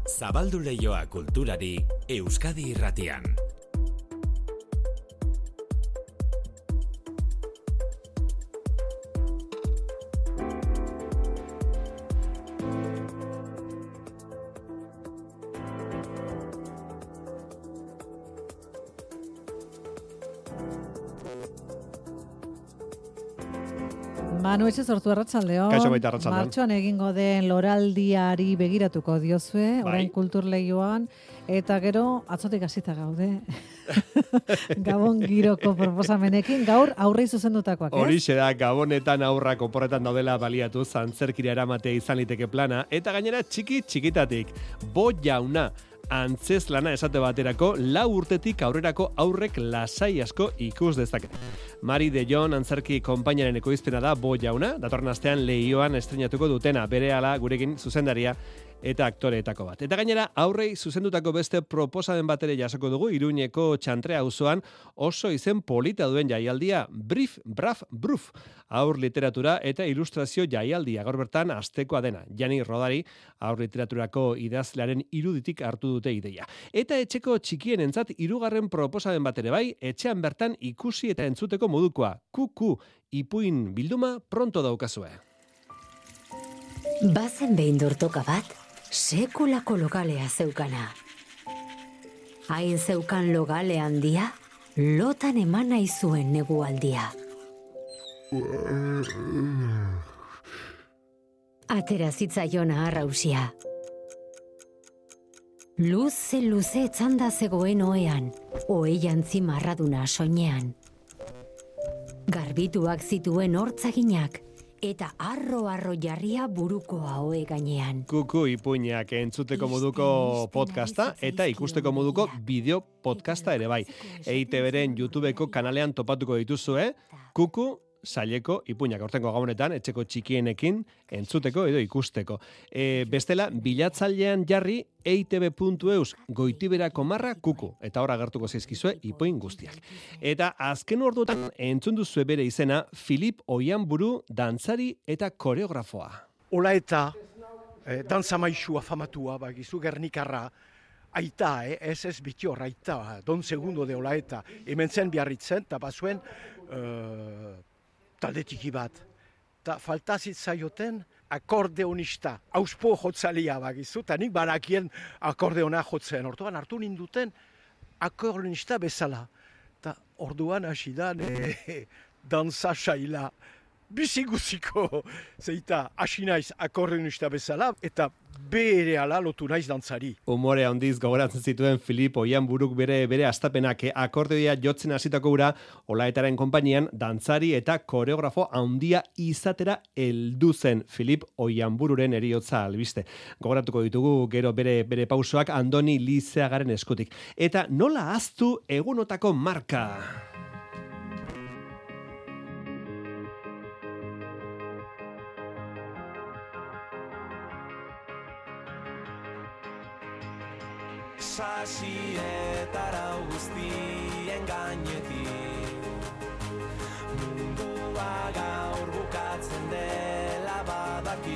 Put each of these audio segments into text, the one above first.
Zabaldu leioa kulturari Euskadi Irratian. Manu etxe sortu arratsaldeon. Kaixo baita arratsaldeon. Martxoan egingo den loraldiari begiratuko diozue, orain kultur leioan, eta gero atzotik hasita gaude. Gabon giroko proposamenekin, gaur aurrei zuzendutakoak, ez? Horixe da, Gabonetan aurrak oporretan daudela baliatu, antzerkira eramatea izan liteke plana, eta gainera txikitatik, Bo Jauna, antzez lana esate baterako, 4 urtetik aurrerako aurrek lasai asko ikus dezake. Mari de Jon antzerki konpainaren ekoizpena da Bo Jauna, datorren astean Leioan estreinatuko dutena, berehala gurekin zuzendaria eta aktoreetako bat. Eta gainera, aurrei zuzendutako beste proposamen bat ere jasoko dugu, Iruñeko Txantrea auzoan oso izen polita duen jaialdia, Brief, Braf, Bruf, aur literatura eta ilustrazio jaialdia, gaur bertan astekoa dena. Jani Rodari, aur literaturako idazlearen iruditik hartu dute ideia. Eta etxeko txikienentzat 3. proposamen bat ere bai, etxean bertan ikusi eta entzuteko modukoa, Kuku, ipuin bilduma pronto daukazue. Bazen behin dortoka bat, sekulako logalea zeukana. Hain zeukan logale handia, lotan eman nahi zuen negualdia. Atera zitzaiona arrausia. Luze etzanda zegoen oean, oei jantzi marraduna soinean. Garbituak zituen hortzaginak, eta arro jarria buruko ahoe gainean. Kuku ipuinak entzuteko moduko podcasta eta ikusteko moduko bideo podcasta ere bai. EITB-ren YouTubeko kanalean topatuko dituzue, Kuku saileko ipuinak. Hortengo Gabonetan etxeko txikienekin entzuteko edo ikusteko. Bestela, bilatzailean jarri eitb.eus goitiberako marra Kuku. Eta hor agertuko zaizkizue ipuin guztiak. Eta azken orduetan entzun duzue bere izena Filip Oianburu dantzari eta koreografoa. Ola eta dantza maixua famatua, bagizu Gernikarra, aita, ez biti hor, aita, Don Segundo de Ola eta, hemen zen biarritzen, eta bazuen taldetiki bat. Ta faltazit zaioten akordeonista, auspo jotzalia bagizu, eta nik banakien akordeona jotzen. Orduan hartu ninduten akordeonista bezala. Ta orduan hasi da dantza saila. Biziguziko, zeita, hasi naiz akordeonista bezala, eta bere ala lotu naiz dantzari. Umore handiz gogoratzen zituen Filip Oianburuk bere astapenak akordeoia jotzen hasitako ura, Olaetaren konpainian dantzari eta koreografo handia izatera heldu zen Filip Oianbururen heriotza albiste. Gogoratuko ditugu gero bere pausoak Andoni Lizeagaren eskutik. Eta nola ahaztu egunotako marka? Sasietara guztien gainetik mundua gaur bukatzen dela badaki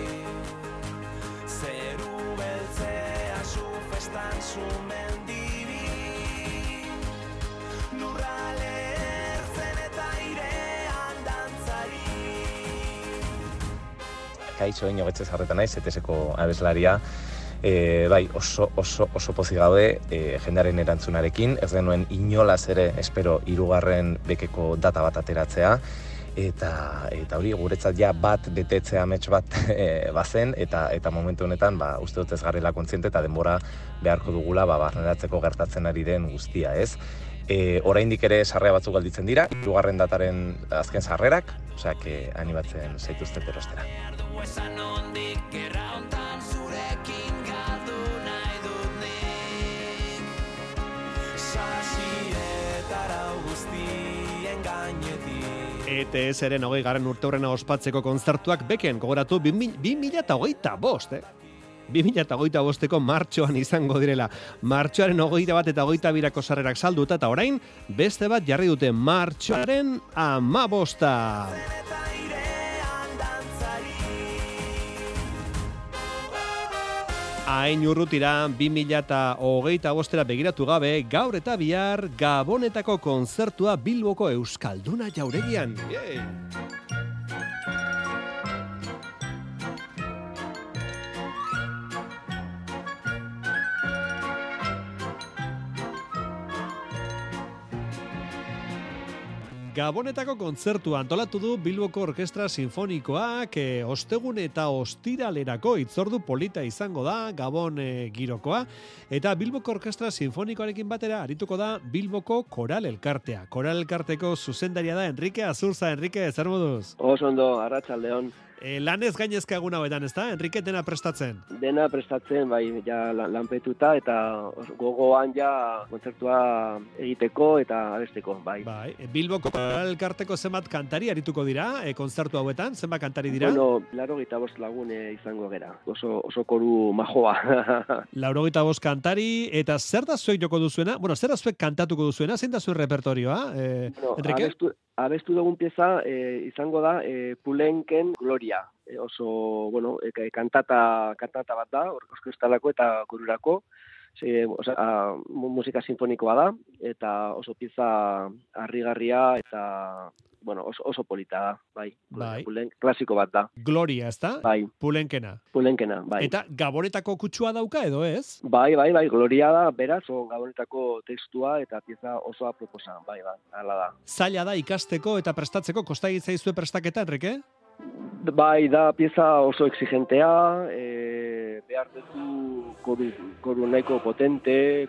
zeru beltzea zu festan sumendibi lurra lertzen eta airean dantzari. Kaixo inogetxe zarretan naiz, ETS-eko abeslaria. Bai, oso pozik gaude jendearen erantzunarekin, ez genuen inolaz ere espero 3. bekeko data bat ateratzea, eta hori guretzat ja bat betetzea amets bat bazen, eta momentu honetan uste dut ez garela kontziente eta denbora beharko dugula barneratzeko gertatzen ari den guztia, ez? Oraindik ere sarrera batzuk galditzen dira, 3. dataren azken sarrerak, osea, animatzen zaituztet erostera. ETS-ren 20. urteurrena ospatzeko kontzertuak beken gogoratu 2025, 2025eko martxoan izango direla. Martxoaren 21 eta 22 sarrerak salduta eta orain beste bat jarri dute martxoaren 15. Hain urrutira 2025 begiratu gabe, gaur eta bihar Gabonetako kontzertua Bilboko Euskalduna Jauregian. Yay! Gabonetako kontzertua antolatu du Bilboko Orkestra Sinfonikoak, ostegun eta ostiralerako hitzordu polita izango da Gabon girokoa, eta Bilboko Orkestra Sinfonikoarekin batera arituko da Bilboko Koral Elkartea. Koral Elkarteko zuzendaria da Enrique Azurza. Enrique, zer moduz? Oso ondo, arratsaldeon. Lanez gainezka egun hauetan, ezta? Enrique, dena prestatzen? Dena prestatzen, bai, ja lanpetuta eta gogoan ja kontzertua egiteko eta abesteko, bai. Bai, Bilboko Koral Elkarteko zenbat kantari arituko dira, kontzertu hauetan, zenbat kantari dira? Bueno, 85 lagun izango gera, oso koru majoa. 85 kantari, eta zer da zuek joko duzuena? Bueno, zer da zuek kantatuko duzuena? Zein da zuen repertorioa, Enrique? Abestu dugun pieza izango da Pulenken Gloria. Oso, bueno, kantata bat da, orkestalako eta korurako. Musika sinfonikoa da, eta oso pieza harrigarria eta, bueno, oso polita da, bai. Klasiko bat da. Gloria, ez da? Bai. Pulenkena, bai. Eta Gabonetako kutsua dauka edo ez? Bai, Gloria da, beraz, Gabonetako tekstua eta pieza oso aproposa, bai, hala da. Zaila da ikasteko eta prestatzeko, kosta egin zaizue prestaketa, Enrique? Bai, da pieza oso exigentea, behar duzu koru nahiko potente,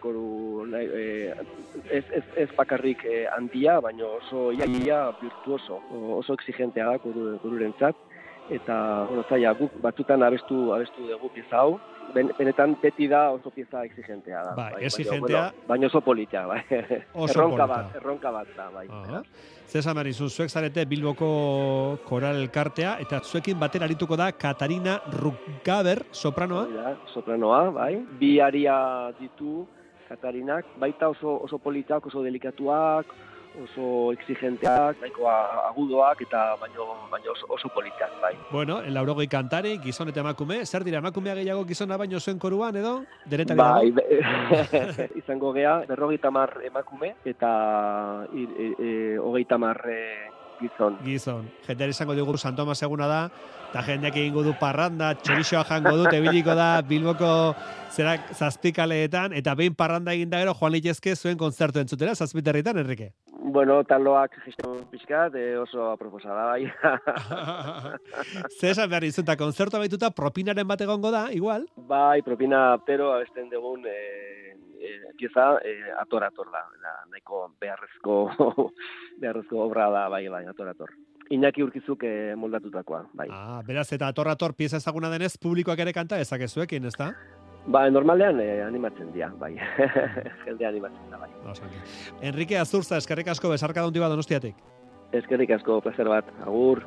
ez bakarrik handia, baina oso iaia virtuoso, oso exigentea da korurentzat, eta zaila, guk batzutan abestu dugu pieza hau, benetan beti da oso pieza exigentea da. Bai, exigentea. Baina oso polita, bai. Erronka bat da, bai. Zesa Marizu, zuek zarete Bilboko Koral Elkartea, eta zuekin batera arituko da Katarina Ruggaber, sopranoa? Sopranoa, bai. Bi aria ditu Katarinak, baita oso politak, oso delikatuak, oso exigenteak, nahiko agudoak, eta baino oso politak, bai. Bueno, 80 kantari, gizon eta emakume, zer dira, emakumea gehiago gizona baino zuen koruan, edo? Denetari bai, izango gea, 50 emakume, eta 30 gizon. Jendeari izango dugu San Tomas eguna da, eta jendeak egingo du parranda, txorixoa jango dut, ebiliko da Bilboko zazpikaleetan, eta behin parranda egin da gero, joan litezke zuen kontzertu entzutera, zazpiterritan, Enrique? Bueno, taloak gestion pixkat, oso aproposa da, bai. Zer esan behar izun, eta kontzertu baituta propinaren bat egongo da, igual? Bai, propina aptero abesten dugun pieza ator da, nahiko beharrezko obra da, bai, ator. Iñaki Urkizuk moldatutakoa, bai. Beraz, eta ator pieza ezaguna denez, publikoak ere kanta ezakezuekin, ez da? Ba, normalean animatzen dira, bai. Jende animatzen da, bai. Enrique Azurza, eskerrik asko, besarka daundi bat Donostiatik. Eskerrik asko, placer bat, agur.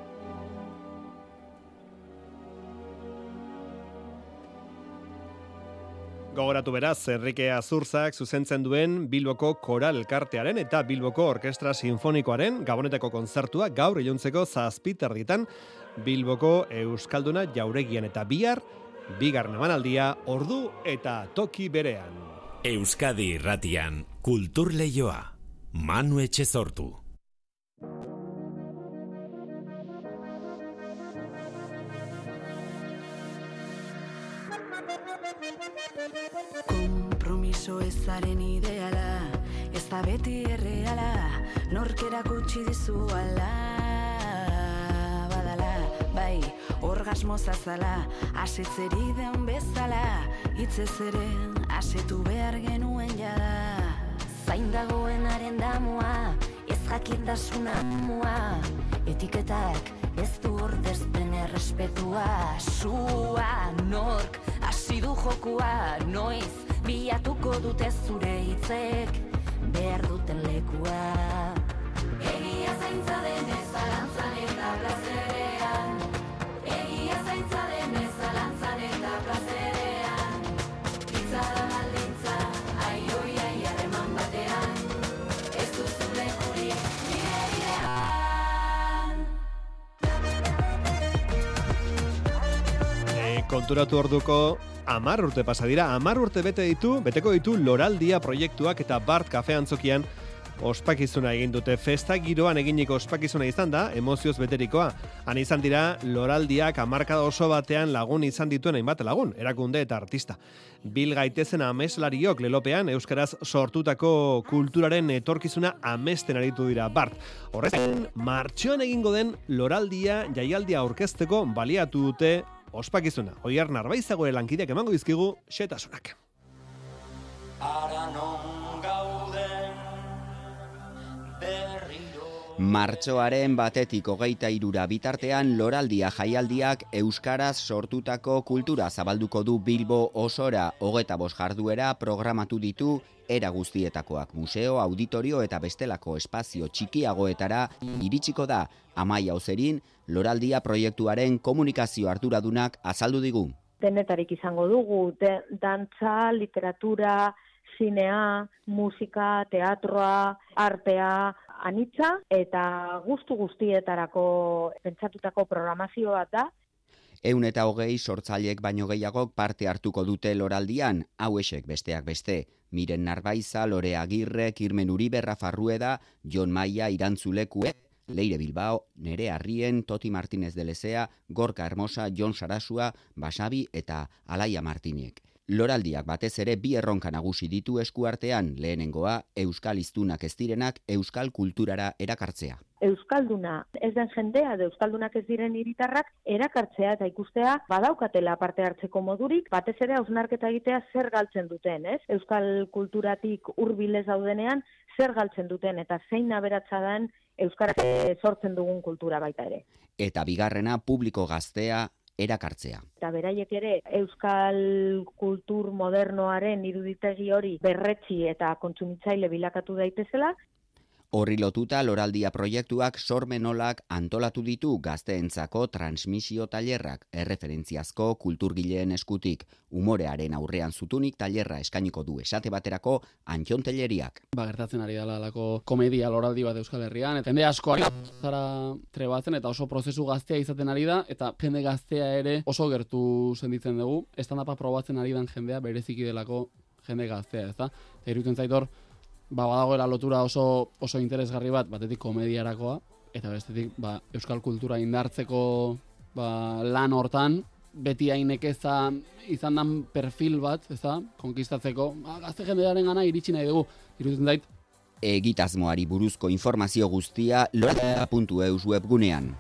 Gogoratu beraz, Enrique Azurzak zuzentzen duen Bilboko Koral Elkartearen eta Bilboko Orkestra Sinfonikoaren Gabonetako kontzertua gaur iluntzeko 7:00 Bilboko Euskalduna Jauregian, eta bihar bigarren emanaldia ordu eta toki berean. Euskadi Irratian, Kultur Leioa, Manu Etxezortu. Konpromiso ezaren ideala, ez da beti erreala, norkera gutxi dizu ala, badala, bai, orgasmo zazala, asetzeri den bezala, hitzez ere asetu behar genuen jada. Zain dagoenaren damua, ez jakintasuna mua, etiketak ez du ordezpen errespetua, sua nork hasi du jokua, noiz bilatuko dute zure hitzek behar duten lekua. Egia zaintza denez zalantzan eta plazerean, egia zaintza denez zalantzan eta plazerean, hitza da baldintza, aioi harreman batean, ez duzu lekurik nire idean. Konturatu orduko 10 urte pasa dira, 10 urte beteko ditu Loraldia proiektuak eta Bart Kafe Antzokian ospakizuna egin dute. Festa giroan eginiko ospakizuna izan da, emozioz beterikoa. Han izan dira Loraldiak hamarkada oso batean lagun izan dituen hainbat lagun, erakunde eta artista. Bil gaitezen ameslariok lelopean euskaraz sortutako kulturaren etorkizuna amesten aritu dira. Bart, horrezen martxoan egingo den Loraldia jaialdia aurkezteko baliatu dute ospakizuna. Oiar Narbaizagoen lankideak emango dizkigu xetasunak. Martxoaren 1 to 23 bitartean Loraldia jaialdiak euskaraz sortutako kultura zabalduko du Bilbo osora. 25 jarduera programatu ditu, era guztietakoak museo, auditorio eta bestelako espazio txikiagoetara iritsiko da. Amaia Ozerin, Loraldia proiektuaren komunikazio arduradunak azaldu digu. Denetarik izango dugu, dantza, literatura, zinea, musika, teatroa, artea, anitza eta gustu guztietarako pentsatutako programazio bat da. 120 sortzailek baino gehiagok parte hartuko dute Loraldian, hauexek besteak beste. Miren Narbaiza, Lore Agirre, Kirmen Uribe, Rafa Rueda, Jon Maia, Irantzulekue, Leire Bilbao, Nere Arrien, Toti Martínez de Lezea, Gorka Hermosa, Jon Sarasua, Basabi eta Alaia Martiniek. Loraldiak batez ere bi erronka nagusi ditu eskuartean, lehenengoa, euskal hiztunak ez direnak euskal kulturara erakartzea. Euskalduna ez den jendea, euskaldunak ez diren hiritarrak erakartzea eta ikustea badaukatela parte hartzeko modurik, batez ere hausnarketa egitea zer galtzen duten, ez? Euskal kulturatik hurbil ez daudenean zer galtzen duten eta zein aberatsa den euskarak sortzen dugun kultura baita ere. Eta bigarrena, publiko gaztea erakartzea. Eta beraiek ere euskal kultur modernoaren iruditegi hori berretsi eta kontsumitzaile bilakatu daitezela. Horri lotuta Loraldia proiektuak sormenolak antolatu ditu gazteentzako transmisio tailerrak, erreferentziazko kulturgileen eskutik, umorearen aurrean zutunik tailerra eskainiko du esate baterako Antxon Telleriak. Gertatzen ari dela lako komedia Loraldi bat Euskal Herrian, eta jende asko zara trebatzen eta oso prozesu gaztea izaten ari da, eta jende gaztea ere oso gertu senditzen dugu, stand-upa probatzen ari den jendea bereziki delako jende gaztea, ezta? Eta iruditzen zaitor, badagoela lotura oso interesgarri bat, batetik komediarakoa, eta bestetik euskal kultura indartzeko lan hortan, beti hainekeza izan dan perfil bat, ezta, konkistatzeko, gazte jendearen gana iritsi nahi dugu, iruditzen zait. Egitasmoari buruzko informazio guztia loraldia.eus webgunean.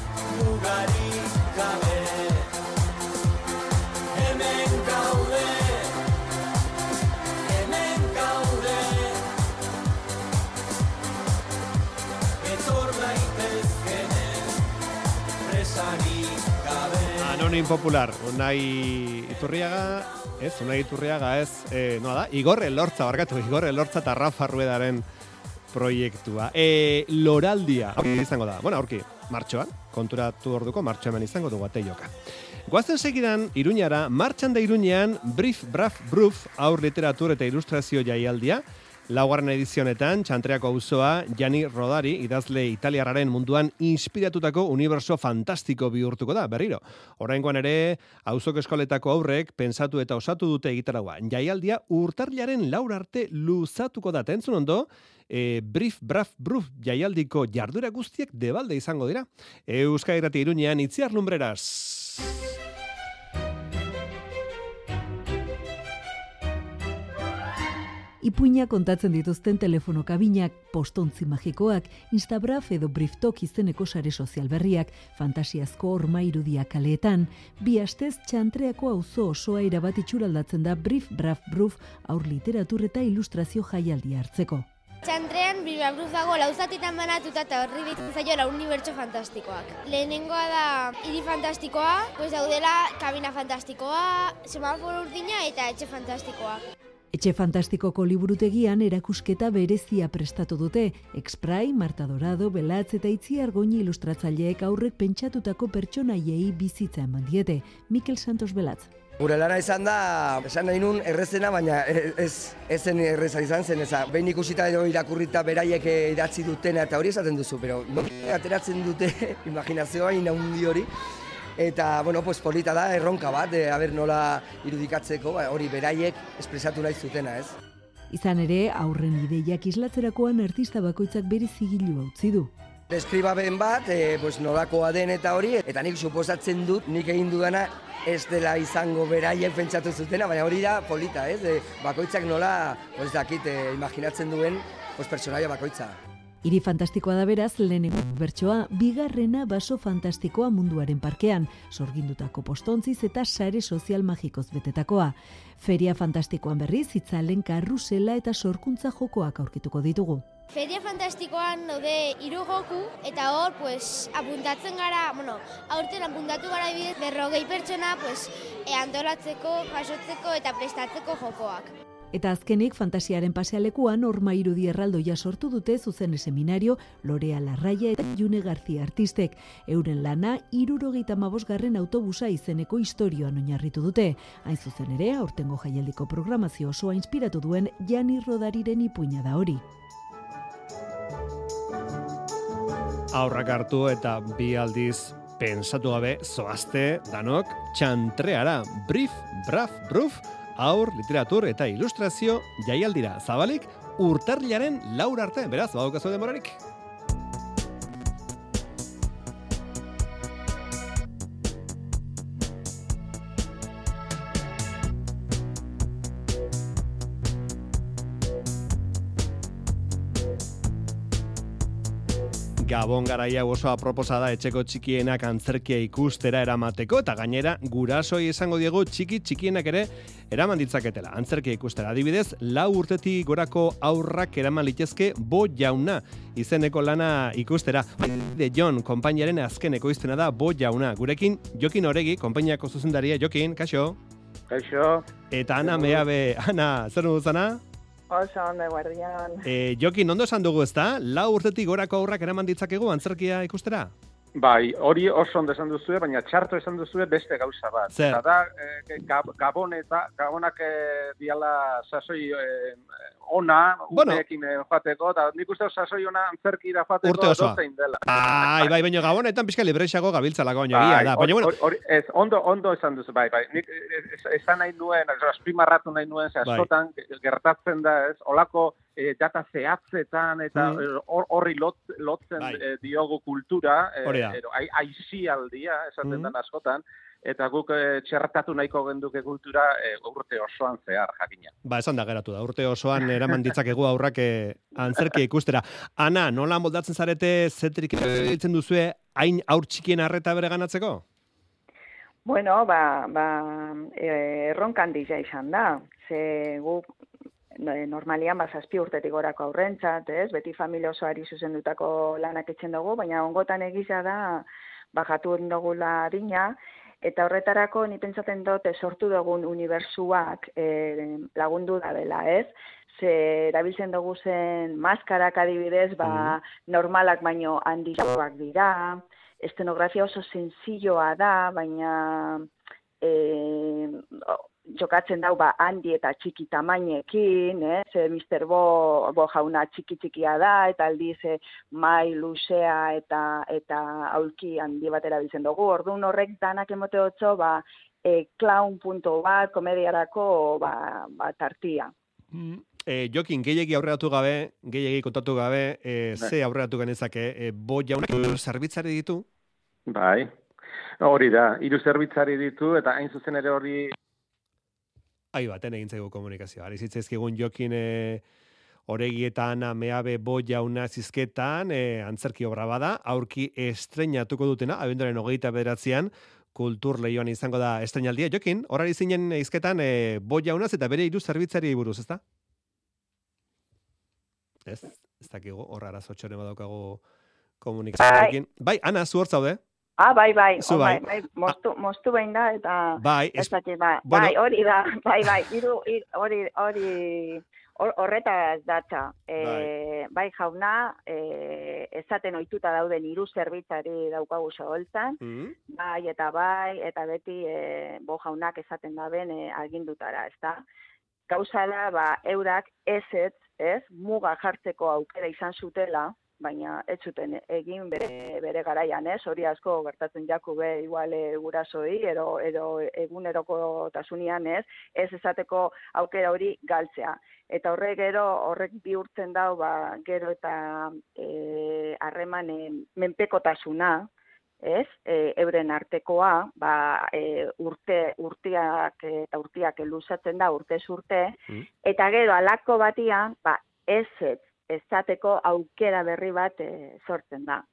Anonim popular, Unai Iturriaga ez, noa da, Igor Elortza eta Rafa Ruedaren proiektua. Loraldia, aurki izango da, aurki, martxoan, konturatu orduko martxoan izango dugu ateioka. Goazen segidan, Iruñara, martxan da Iruñean, Brief, Braf, Bruf, aur literatur eta ilustrazio jaialdia, laugarren edizionetan, Txantreako auzoa Jani Rodari, idazle italiarraren munduan inspiratutako uniberso fantastiko bihurtuko da, berriro. Oraingoan ere, auzoko eskoletako aurrek pensatu eta osatu dute egitaraua. Jaialdia urtarrilaren 4 arte luzatuko da, entzun ondo, Brief, Braf, Bruf jaialdiko jarduera guztiek debalde izango dira. Euskadi Irrati Iruñean, Itziar Lumbreras. Ipuinak kontatzen dituzten telefono kabinak, postontzi magikoak, Instabraf edo Briftok izeneko sare sozial berriak, fantasiazko horma irudiak kaleetan, bi astez Txantreako auzo osoa erabat itxuraldatzen da Brief, Braf, Bruf aur literatur eta ilustrazio jaialdia hartzeko. Txantrean Brief, Braf, Bruf dago lauzatitan banatuta eta horri ditzen zaiola unibertso fantastikoak. Lehenengoa da hiri fantastikoa, daudela kabina fantastikoa, semaforo urdina eta etxe fantastikoa. Etxe Fantastikoko liburutegian erakusketa berezia prestatu dute. Exprai, Marta Dorado, Belatz eta Itziar Goñi ilustratzaileek aurrek pentsatutako pertsonaiei bizitza eman diete. Mikel Santos Belatz. Gure lana izan da, esan nahi nun errezena, baina ez zen erreza izan zen, behin ikusita edo irakurrita beraiek idatzi dutena eta hori esaten duzu, pero ateratzen dute imaginazioa inaundi hori. Eta, bueno, pues polita da, erronka bat, aber nola irudikatzeko, hori beraiek espresatu nahi zutena, ez? Izan ere, aurren ideiak islatzerakoan artista bakoitzak bere zigilua utzi du. Deskribaben bat, pues nolakoa den eta hori, eta nik suposatzen dut, nik egin dudana ez dela izango beraiek pentsatu zutena, baina hori da polita, ez? Bakoitzak nola, pues dakit, imaginatzen duen, pues personaia bakoitza. Hiri fantastikoa da beraz, lehenengo bertsoa, bigarrena baso fantastikoa munduaren parkean, sorgindutako postontziz eta sare sozial magikoz betetakoa. Feria fantastikoan berriz, itzalen karrusela eta sorkuntza jokoak aurkituko ditugu. Feria fantastikoan daude 3 joku, eta hor, apuntatzen gara, aurten apuntatu gara bidez 40 pertsona, antolatzeko, jasotzeko eta prestatzeko jokoak. Eta azkenik, fantasiaren pasealekuan, Horma irudi erraldoia sortu dute zuzen seminario Lorea Larraia eta June García artistek. Euren lana, 75. autobusa izeneko istorioan oinarritu dute. Hain zuzen ere, aurtengo jaialdiko programazio osoa inspiratu duen Jani Rodariren ipuina da hori. Aurrak hartu eta bi aldiz pensatu gabe zoazte danok txantreara. Brief, braf, bruf, aur, literatur eta ilustrazio jaialdira. Zabalik, urtarrilaren 4 arte. Beraz, badaukazu denborarik. Gabon garaia oso aproposa da etxeko txikienak antzerkia ikustera eramateko, eta gainera gurasoi esango diegu txikienak ere eraman ditzaketela. Antzerkia ikustera adibidez, 4 urtetik gorako aurrak eraman litezke Bo Jauna izeneko lana ikustera. De Jon, konpainiaren azken ekoizpena da Bo Jauna. Gurekin Jokin Oregi, konpainiako zuzendaria. Jokin, kaixo? Kaixo. Eta Ana Meabe. Ana, zer nudu zana? Oso ondo, guardian. Jokin, ondo esan dugu ezta? 4 urtetik gorako aurrak eraman ditzakegu antzerkia ikustera? Bai, hori oso ondo esan duzue, baina txarto esan duzue beste gauza bat. Zer? Da, Gabonak diala sasoi ona, urteekin joateko, eta nik uste sasoi ona antzerkira joateko dozein dela. Bai, baina Gabonetan pixka libreixago gabiltzalako baino egia da. Baina, bueno, ondo esan duzu, bai. Nik esan nahi nuen, azpimarratu nahi nuen, askotan gertatzen da, ez, olako data zehatzetan eta horri lotzen diogu kultura, aizialdia, esaten den askotan, eta guk txertatu nahiko genduke kultura urte osoan zehar, jakina. Ba, esan da geratu da, urte osoan eraman ditzakegu aurrak antzerkia ikustera. Ana, nola moldatzen zarete zetrik ditzen duzue hain aur txikien arreta bere ganatzeko? Bueno, erronkan dira izan da, ze guk normalian 7 urtetik gorako aurrentzat, ez? Beti familia osoari zuzendutako lanak etxen dugu, baina ongotan egiza da bajatu dugula adina, eta horretarako ni pentsatzen dut sortu dugun unibertsuak lagundu da dela, ez? Ze erabiltzen dugu zen maskarak adibidez, normalak baino handiagoak dira, estenografia oso sencilloa da, baina jokatzen dau handi eta txiki tamainekin, Mr. Bo jauna txiki-txikia da, eta aldiz mai luzea eta aulki handi bat erabiltzen dugu. Orduan horrek danak emote otzo, clown punto bat, komediarako tartia. Jokin, gehiagi aurreratu gabe, gehiagi kontatu gabe, ze aurreratu genezake, Bo Jaunak zerbitzari ditu? Bai, hori da, 3 zerbitzari ditu, eta hain zuzen ere hori Ahi baten egin zaigu komunikazioa. Arizitzaizkigun Jokin Oregi eta Ana Meabe Bo Jauna zizketan, antzerki obra bada, aurki estreinatuko dutena, abenduaren 29an, Kultur Leioan izango da estreinaldia. Jokin, horari zinen izketan Bo Jaunaz eta bere 3 zerbitzari buruz, ezta? Ez dakigu, horra arazotxoren badaukagu komunikazioarekin. Bai, Ana, zu hor zaude? Bai, moztu behin da, eta hori da, hori horretaz datza. Bai, jauna, ezaten ohituta dauden 3 zerbitzari daukagu soholtzan, eta beti Bo jaunak esaten daben agindutara, ezta? Gauza da, eurak ez, muga jartzeko aukera izan zutela, baina ez zuten egin bere garaian, ez? Hori asko gertatzen jaku be igual gurasoi edo egunerokotasunean, ez? Ez esateko aukera hori galtzea. Eta horrek bihurtzen dau, gero eta harremanen menpekotasuna, ez? Euren artekoa, urteak luzatzen da, urtez urte, eta gero alako batian, ez esateko aukera berri bat sortzen da.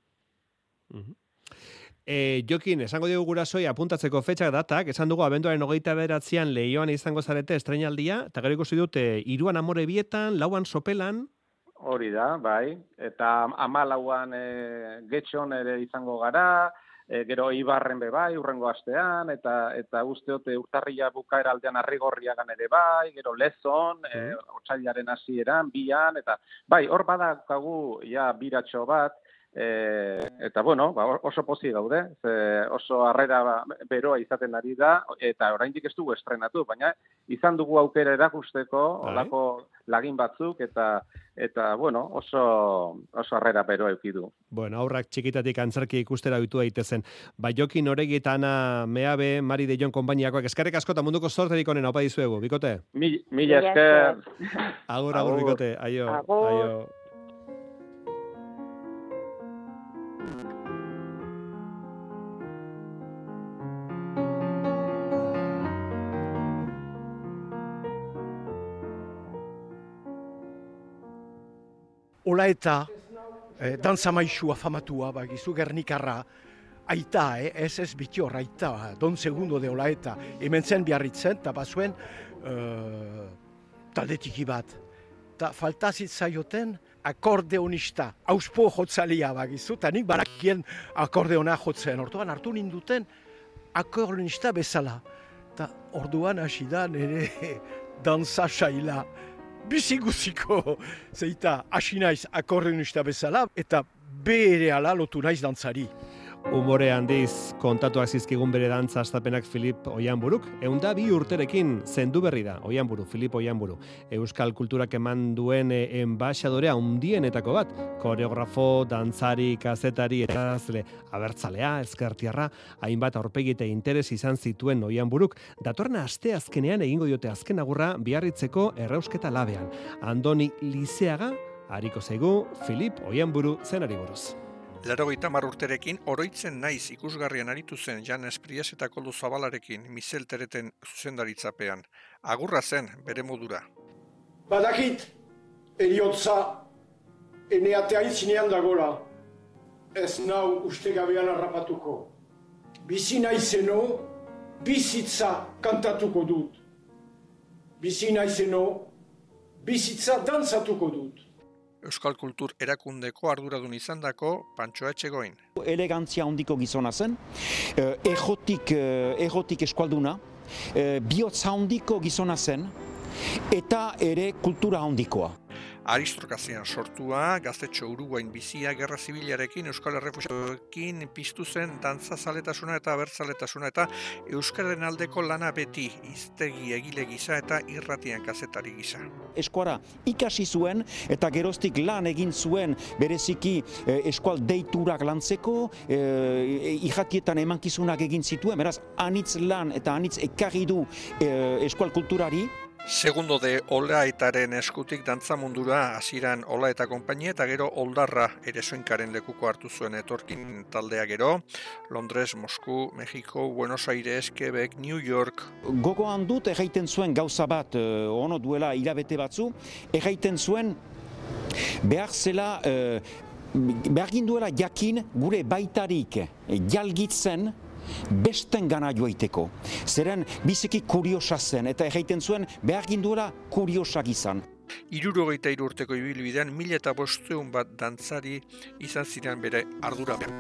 Jokin, esango dugu gurasoi apuntatzeko fetxak datak, esan dugu abenduaren 29an Leioan izango zarete estreinaldia, eta gero ikusi dut 3 Amore Bietan, 4 Sopelan. Hori da, bai, eta 14an Getxon ere izango gara, gero Ibarren bai, urrengo astean, eta usteote urtarria bukaera aldean Arrigorriagan ere bai, gero Lezon, otsailaren hasieran, 2an, eta bai, hor badakagu ja biratxo bat, eta bueno, oso pozik gaude, oso harrera beroa izaten ari da, eta oraindik ez dugu estrenatu, baina izan dugu aukera erakusteko, olako lagin batzuk, eta bueno, oso harrera beroa eukidu. Bueno, aurrak txikitatik antzerki ikustera ohitu daitezen. Jokin Oregi eta Ana Meabe, Mari de Jon konpainiakoak, eskerrik asko eta munduko zorterik onena, opa dizuegu, bikote? Mila esker. Agur, bikote, aio. Aio. Ola eta dantza maixua famatua, bagizu Gernikarra, aita, ez bitior, aita, Don Segundo de Ola eta, hemen zen Biarritzen, eta bazuen taldetiki bat. Ta faltazit zaioten akordeonista, auspo jotzalia bagizu, eta nik barakien akordeona jotzen. Orduan hartu ninduten akordeonista bezala. Ta orduan hasi da nire dantza saila. Biziguziko, zeita, hasi naiz akordeonista bezala, eta berehala lotu naiz dantzari. Umore handiz kontatuak zizkigun bere dantza astapenak Filip Oianburuk, 102 urterekin zendu berri da, Oianburu, Filip Oianburu. Euskal kulturak eman duen enbaixadorea handienetako bat, koreografo, dantzari, kazetari, eta abertzalea, ezkertiarra, hainbat aurpegi eta interes izan zituen Oianburuk, datorren asteazkenean egingo diote azken agurra Biarritzeko Errausketa Labean. Andoni Lizeaga, hariko zaigu Filip Oianburu zenari buruz. 80 urterekin oroitzen naiz ikusgarrian aritu zen Jan Espries eta Koldo Zabalarekin Mizel Tereten zuzendaritzapean. Agurra zen bere modura. Badakit, eriotza, eneatea intzinean dagola. Ez nau ustegabean harrapatuko. Bizi naizeno, bizitza kantatuko dut. Bizi naizeno, bizitza dantzatuko dut. Euskal Kultur erakundeko arduradun izandako Pantxo Etxegoin. Elegantzia handiko gizona zen, egotik eskualduna, bihotza handiko gizona zen, eta ere kultura handikoa. Aristokrazian sortua, gaztetxo Uruguain bizia, gerra zibilarekin, Euskal Errefuxiatuekin piztu zen dantzazaletasuna eta abertzaletasuna eta Euskararen aldeko lana beti, hiztegi egile gisa eta irratian kazetari gisa. Eskuara ikasi zuen eta geroztik lan egin zuen bereziki eskual deiturak lantzeko, irratietan emankizunak egin zituen, beraz anitz lan eta anitz ekarri du eskual kulturari. Segundo de Olaetaren eskutik dantza mundura hasieran Ola eta konpainia eta gero Oldarra ere Soinkaren lekuko hartu zuen etorkin taldea gero, Londres, Mosku, Mexiko, Buenos Aires, Quebec, New York. Gogoan dut erraiten zuen gauza bat, ono duela hilabete batzu, erraiten zuen behar zela, behar ginduela jakin gure baitarik jalgitzen besten gana joaiteko. Zeren biziki kuriosa zen, eta erraiten zuen behar ginduela kuriosak izan. 63 urteko ibilbidean 1500 bat dantzari izan ziren bere ardurapean.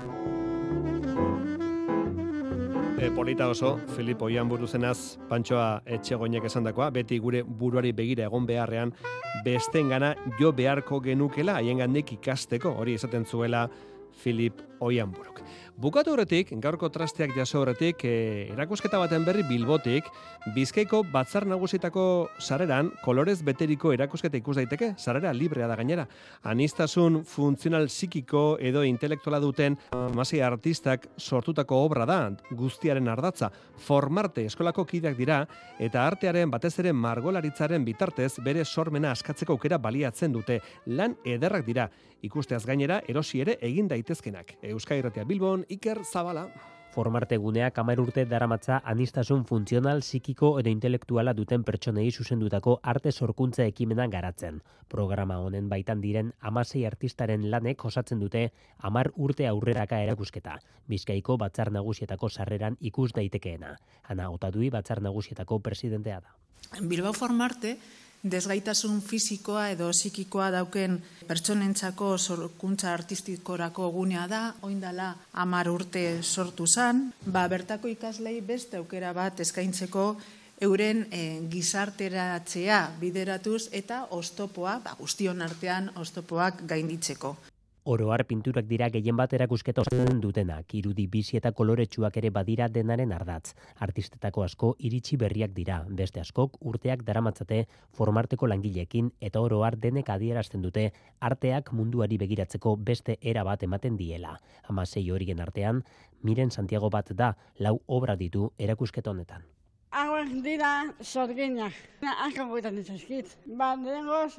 Polita oso, Filip Oianburu zenaz, Pantxoa Etxegoinek esandakoa, beti gure buruari begira egon beharrean, bestengana jo beharko genukela, haiengandik ikasteko, hori esaten zuela Filip Oianburuk. Bukatu horretik, gaurko trasteak jaso horretik, erakusketa baten berri Bilbotik, Bizkaiko Batzar Nagusietako sareran kolorez beteriko erakusketa ikus daiteke, sarera librea da gainera. Anistasun funtzional psikiko edo intelektuala duten 16 artistak sortutako obra da, guztiaren ardatza. Formarte eskolako kideak dira, eta artearen batez ere margolaritzaren bitartez bere sormena askatzeko aukera baliatzen dute. Lan ederrak dira, ikusteaz gainera erosi ere egin daitezkenak. Euskadi Irratia Bilbon, Iker Zabala. Formarte guneak 10 urte daramatza anistasun funtzional, psikiko edo intelektuala duten pertsonei zuzendutako arte sorkuntza ekimena garatzen. Programa honen baitan diren 16 artistaren lanek osatzen dute 10 urte aurreraka erakusketa. Bizkaiko Batzar Nagusietako sarreran ikus daitekeena. Ana Otadui Batzar Nagusietako presidentea da. Bilbao Formarte desgaitasun fisikoa edo psikikoa dauken pertsonentzako sorkuntza artistikorako gunea da, oindala 10 urte sortu zan, bertako ikaslei beste aukera bat eskaintzeko euren gizarteratzea bideratuz eta oztopoa, guztion artean oztopoak gainditzeko. Oro har pinturak dira gehien bat erakusketa osatzen dutenak, irudi bizi eta koloretsuak ere badira denaren ardatz. Artistetako asko iritsi berriak dira, beste askok urteak daramatzate Formarteko langileekin eta oro har denek adierazten dute arteak munduari begiratzeko beste era bat ematen diela. 16 horien artean, Miren Santiago bat da, 4 obra ditu erakusketa honetan. Hauek dira sorginak, asko guetan ditzaskit. Lehengoz,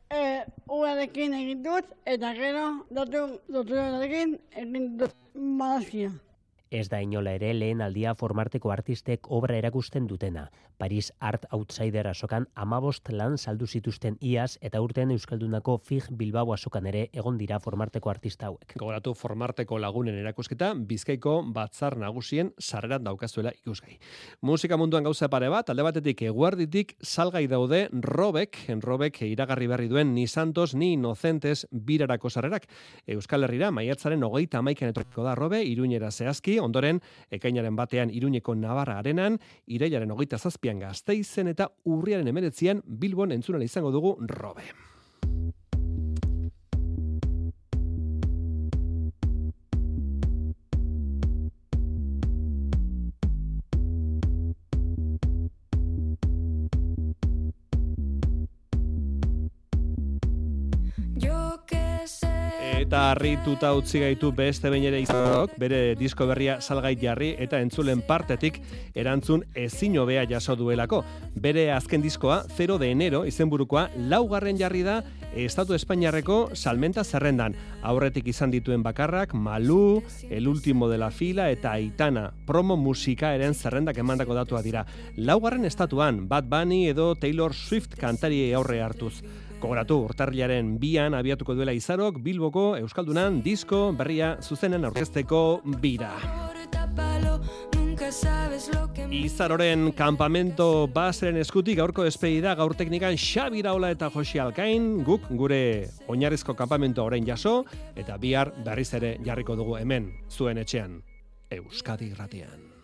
urarekin egin dut, eta gero doturarekin egin dut malazkia. Ez da inola ere lehen aldia Formarteko artistek obra erakusten dutena. Paris Art Outsider azokan 15 lan saldu zituzten iaz eta urtean Euskaldunako FIG Bilbao azokan ere egon dira Formarteko artista hauek. Gogoratu Formarteko lagunen erakusketa Bizkaiko Batzar Nagusien sarreran daukazuela ikusgai. Musika munduan gauza pare bat, alde batetik eguerditik salgai daude Robek iragarri berri duen ni Santos ni Inocentes birarako sarrerak. Euskal Herrira maiatzaren 31 etorriko da Robe, Iruñera zehazki, ondoren ekainaren batean Iruñeko Navarra Arenan, irailaren 27an Gasteizen eta urriaren 19an Bilbon entzunala izango dugu Robe. Eta harrituta utzi gaitu beste behin ere izanok, bere disko berria salgai jarri eta entzulen partetik erantzun ezin hobea jaso duelako. Bere azken diskoa 0 de enero izenburukoa 4. jarri da Estatu Espainiarreko salmenta zerrendan. Aurretik izan dituen bakarrak Malú, El Último de la Fila eta Aitana. Promo musikaeren zerrendak emandako datua dira. 4. estatuan Bad Bunny edo Taylor Swift kantari aurre hartuz. Gogoratu, urtarrilaren 2an abiatuko duela Izarok Bilboko Euskaldunan disko berria zuzenen aurkezteko bira. Izaroren kanpamento baseren eskutik gaurko despedida gaur teknikan Xabi Iraola eta Josi Alkain, guk gure oinarrizko kanpamento orain jaso eta bihar berriz ere jarriko dugu hemen zuen etxean Euskadi Irratian.